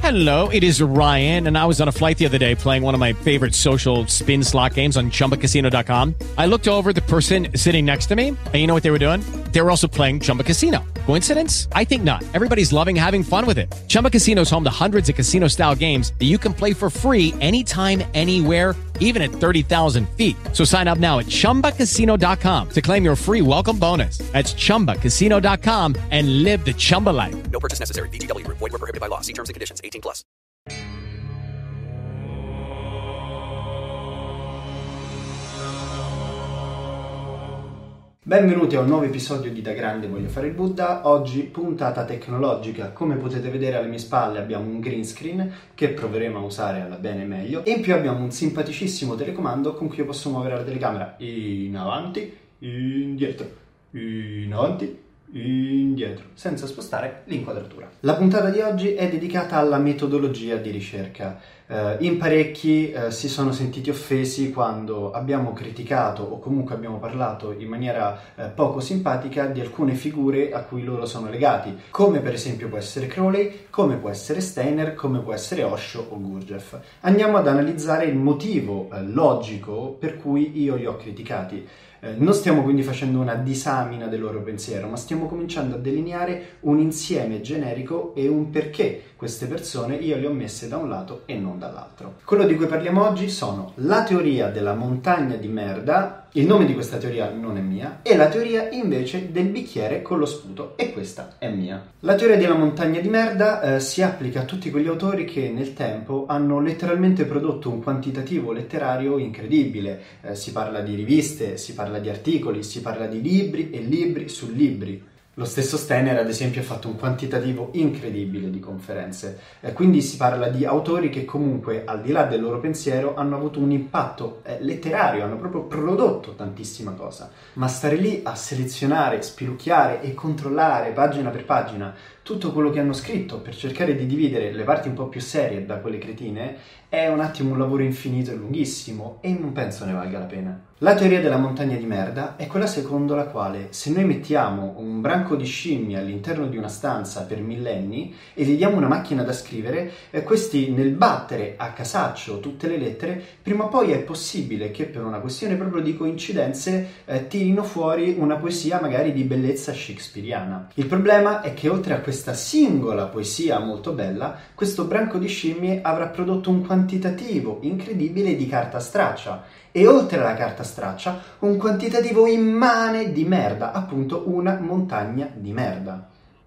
Hello, it is Ryan, and I was on a flight the other day playing one of my favorite social spin slot games on ChumbaCasino.com. I looked over at the person sitting next to me, and you know what they were doing? They were also playing Chumba Casino. Coincidence? I think not. Everybody's loving having fun with it. Chumba Casino is home to hundreds of casino-style games that you can play for free anytime, anywhere, even at 30,000 feet. So sign up now at ChumbaCasino.com to claim your free welcome bonus. That's ChumbaCasino.com and live the Chumba life. No purchase necessary. VGW. Void where prohibited by law. See terms and conditions. 18+. Benvenuti a un nuovo episodio di Da Grande Voglio Fare il Buddha. Oggi puntata tecnologica. Come potete vedere alle mie spalle abbiamo un green screen che proveremo a usare alla bene e meglio, e in più abbiamo un simpaticissimo telecomando con cui io posso muovere la telecamera in avanti, indietro, in avanti, indietro, senza spostare l'inquadratura. La puntata di oggi è dedicata alla metodologia di ricerca. In parecchi si sono sentiti offesi quando abbiamo criticato o comunque abbiamo parlato in maniera poco simpatica di alcune figure a cui loro sono legati, come per esempio può essere Crowley, come può essere Steiner, come può essere Osho o Gurdjieff. Andiamo ad analizzare il motivo logico per cui io li ho criticati. Non stiamo quindi facendo una disamina del loro pensiero, ma stiamo cominciando a delineare un insieme generico e un perché queste persone io le ho messe da un lato e non dall'altro. Quello di cui parliamo oggi sono la teoria della montagna di merda, il nome di questa teoria non è mia, e la teoria invece del bicchiere con lo sputo, e questa è mia. La teoria della montagna di merda si applica a tutti quegli autori che nel tempo hanno letteralmente prodotto un quantitativo letterario incredibile. Si parla di riviste, si parla di articoli, si parla di libri e libri su libri. Lo stesso Steiner, ad esempio, ha fatto un quantitativo incredibile di conferenze. Quindi si parla di autori che comunque, al di là del loro pensiero, hanno avuto un impatto letterario, hanno proprio prodotto tantissima cosa. Ma stare lì a selezionare, spilucchiare e controllare pagina per pagina tutto quello che hanno scritto per cercare di dividere le parti un po' più serie da quelle cretine è un attimo un lavoro infinito e lunghissimo, e non penso ne valga la pena. La teoria della montagna di merda è quella secondo la quale se noi mettiamo un branco di scimmie all'interno di una stanza per millenni e gli diamo una macchina da scrivere, questi nel battere a casaccio tutte le lettere, prima o poi è possibile che per una questione proprio di coincidenze tirino fuori una poesia magari di bellezza shakespeariana. Il problema è che oltre a questa singola poesia molto bella, questo branco di scimmie avrà prodotto un quantitativo incredibile di carta straccia, e oltre alla carta straccia un quantitativo immane di merda, appunto una montagna di merda.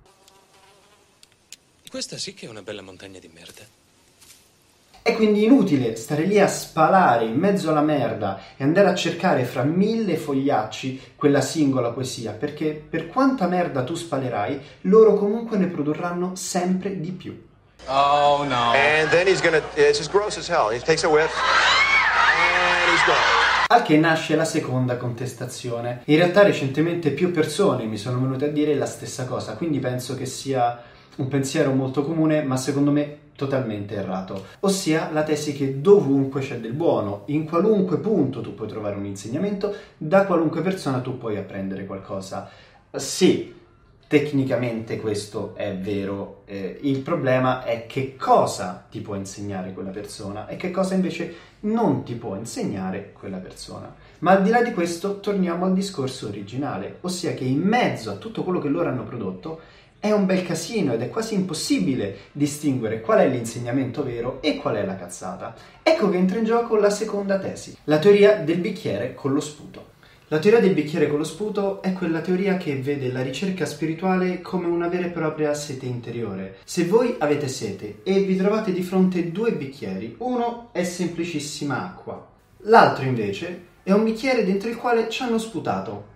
Questa sì che è una bella montagna di merda. È quindi inutile stare lì a spalare in mezzo alla merda e andare a cercare fra 1000 fogliacci quella singola poesia, perché per quanta merda tu spalerai, loro comunque ne produrranno sempre di più. Oh no. And then it's just gross as hell. He takes a whiff and he's gone. Al che nasce la seconda contestazione. In realtà recentemente più persone mi sono venute a dire la stessa cosa, quindi penso che sia un pensiero molto comune, ma secondo me totalmente errato, ossia la tesi che dovunque c'è del buono, in qualunque punto tu puoi trovare un insegnamento, da qualunque persona tu puoi apprendere qualcosa. Sì, tecnicamente questo è vero, il problema è che cosa ti può insegnare quella persona e che cosa invece non ti può insegnare quella persona. Ma al di là di questo torniamo al discorso originale, ossia che in mezzo a tutto quello che loro hanno prodotto è un bel casino ed è quasi impossibile distinguere qual è l'insegnamento vero e qual è la cazzata. Ecco che entra in gioco la seconda tesi, la teoria del bicchiere con lo sputo. La teoria del bicchiere con lo sputo è quella teoria che vede la ricerca spirituale come una vera e propria sete interiore. Se voi avete sete e vi trovate di fronte due bicchieri, uno è semplicissima acqua, l'altro invece è un bicchiere dentro il quale ci hanno sputato.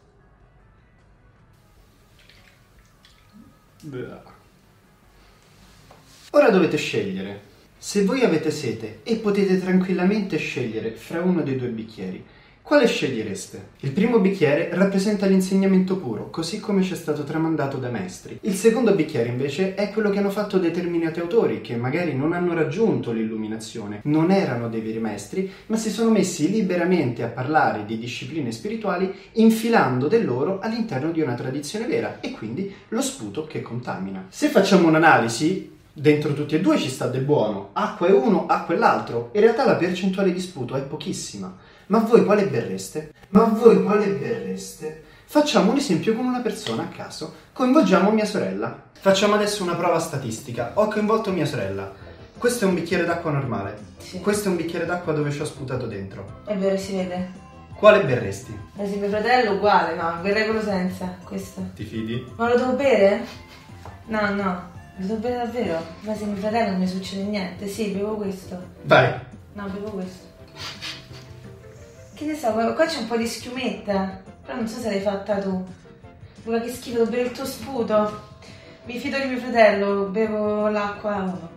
Ora dovete scegliere. Se voi avete sete e potete tranquillamente scegliere fra uno dei due bicchieri, quale scegliereste? Il primo bicchiere rappresenta l'insegnamento puro, così come ci è stato tramandato dai maestri. Il secondo bicchiere invece è quello che hanno fatto determinati autori che magari non hanno raggiunto l'illuminazione, non erano dei veri maestri, ma si sono messi liberamente a parlare di discipline spirituali infilando del loro all'interno di una tradizione vera, e quindi lo sputo che contamina. Se facciamo un'analisi, Dentro tutti e due ci sta del buono. Acqua è uno, acqua è l'altro. In realtà la percentuale di sputo è pochissima. Ma voi quale berreste? Facciamo un esempio con una persona a caso. Coinvolgiamo mia sorella. Facciamo adesso una prova statistica. Ho coinvolto mia sorella. Questo è un bicchiere d'acqua normale. Sì. Questo è un bicchiere d'acqua dove ci ho sputato dentro. È vero, si vede. Quale berresti? Ma se mio fratello uguale, no, berrei quello senza, questo. Ti fidi? Ma lo devo bere? No, lo devo bere davvero. Ma se mio fratello non mi succede niente, sì, bevo questo. Vai. No, bevo questo. Che ne so, qua c'è un po' di schiumetta, però non so se l'hai fatta tu. Luca, che schifo, devo bere il tuo sputo. Mi fido di mio fratello, bevo l'acqua a uno.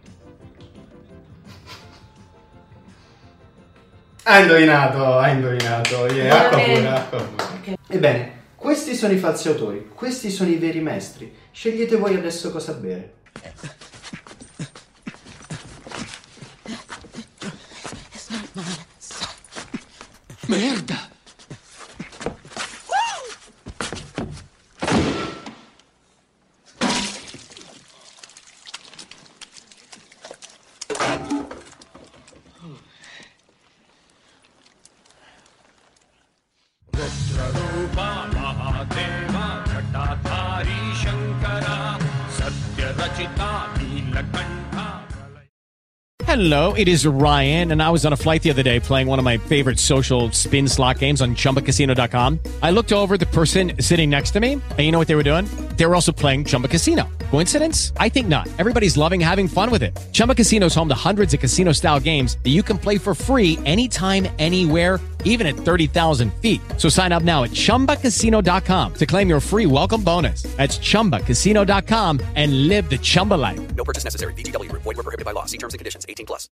Hai indovinato, yeah, acqua pura. Okay. Ebbene, questi sono i falsi autori, questi sono i veri maestri. Scegliete voi adesso cosa bere. Merda! Hello, it is Ryan, and I was on a flight the other day playing one of my favorite social spin slot games on ChumbaCasino.com. I looked over at the person sitting next to me, and you know what they were doing? They were also playing Chumba Casino. Coincidence? I think not. Everybody's loving having fun with it. Chumba Casino is home to hundreds of casino-style games that you can play for free anytime, anywhere, even at 30,000 feet. So sign up now at ChumbaCasino.com to claim your free welcome bonus. That's ChumbaCasino.com and live the Chumba life. No purchase necessary. VGW Group. Void where prohibited by law. See terms and conditions. 18+.